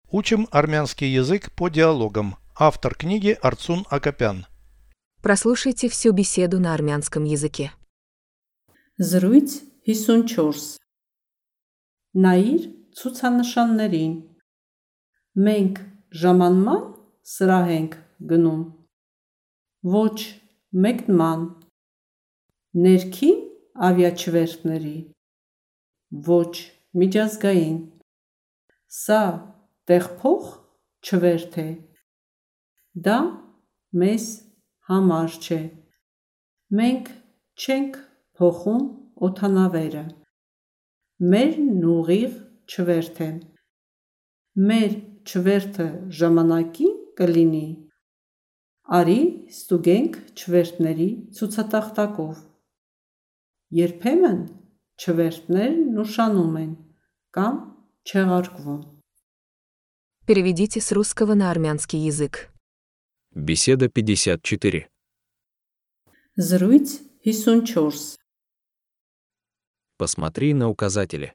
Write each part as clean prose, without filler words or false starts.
Учим армянский язык по диалогам. Автор книги Арцун Акопян. Прослушайте всю беседу на армянском языке. Զրույց 54 Նայիր ցուցանշաններին։ Մենք ժամանման սրահ ենք գնում։ Ոչ մեկնման։ Ներքին ավիաչվերթների։ Ոչ միջազգային։ Սա տեղփոխ չվերթ է։ Դա մեզ համար չէ։ Մենք չենք փոխում օդանավերը։ Մերն ուղիղ չվերթ է։ Մեր չվերթը ժամանակին կլինի։ Արի ստուգենք չվերթների ցուցատախտակով։ Երբեմն չվերթներն ուշանում են կամ չեղարկվում։ Переведите с русского на армянский язык. Беседа 54. Զրույց 54 Посмотри на указатели.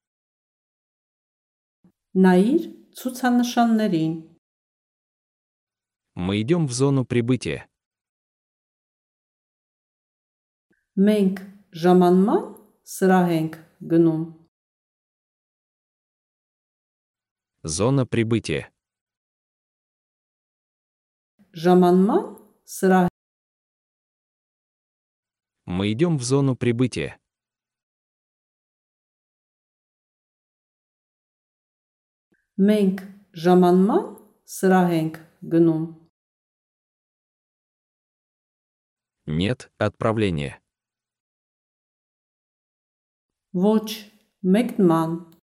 Նայիր ցուցանշաններին։ Мы идем в зону прибытия. Մենք ժամանման սրահ ենք գնում։ Зона прибытия. Ժամանման սրահ Мы идем в зону прибытия. Մենք ժամանման սրահ ենք գնում։ Нет отправления. Ոչ մեկնման։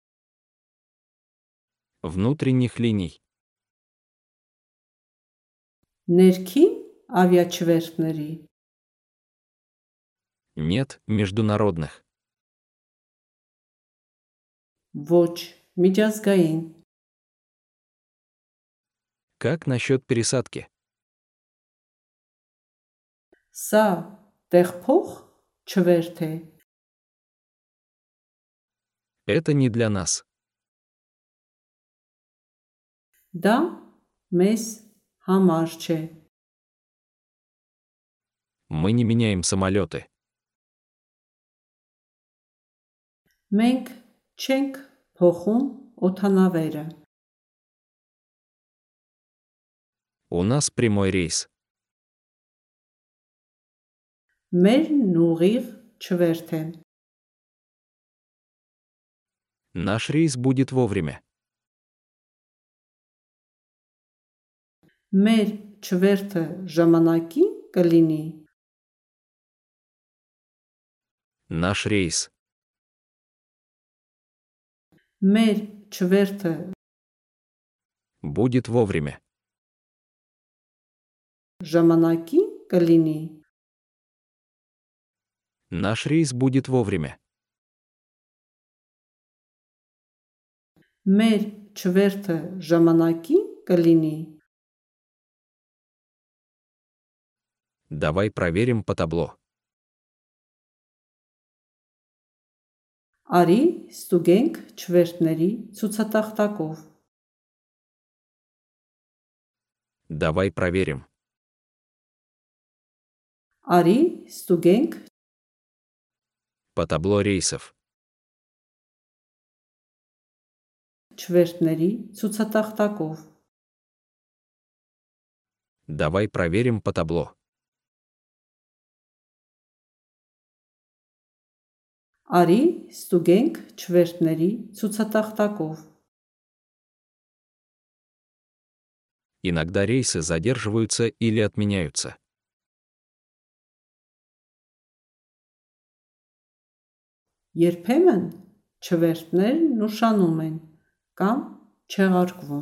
Внутренних линий. Ներքին ավիաչվերթների։ Нет международных. Ոչ միջազգային։ Как насчет пересадки? Սա տեղփոխ չվերթ է։ Это не для нас. Դա մեզ համար չէ։ Мы не меняем самолеты. Մենք չենք փոխում օդանավերը։ У нас прямой рейс. Մերն ուղիղ չվերթ է։ Наш рейс будет вовремя. Մեր չվերթը ժամանակին կլինի։ Наш рейс. Մեր չվերթը Будет вовремя. ժամանակին կլինի։ Наш рейс будет вовремя. Մեր չվերթը ժամանակին կլինի։ Давай проверим по табло. Արի ստուգենք չվերթների ցուցատախտակով։ Давай проверим. Արի ստուգենք По табло рейсов. չվերթների ցուցատախտակով։ Давай проверим по табло. Արի ստուգենք չվերթների ցուցատախտակով։ Иногда рейсы задерживаются или отменяются. Երբեմն չվերթներն ուշանում են կամ չեղարկվում։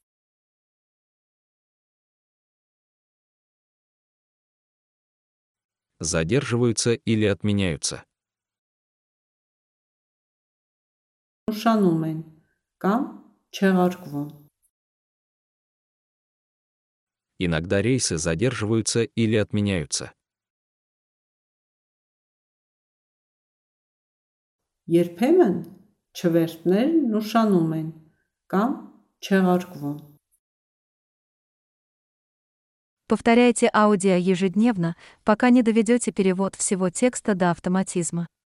Задерживаются или отменяются. Ուշանում են կամ չեղարկվում։ Иногда рейсы задерживаются или отменяются. Երբեմն չվերթներն ուշանում են կամ չեղարկվում։ Повторяйте аудио ежедневно, пока не доведете перевод всего текста до автоматизма.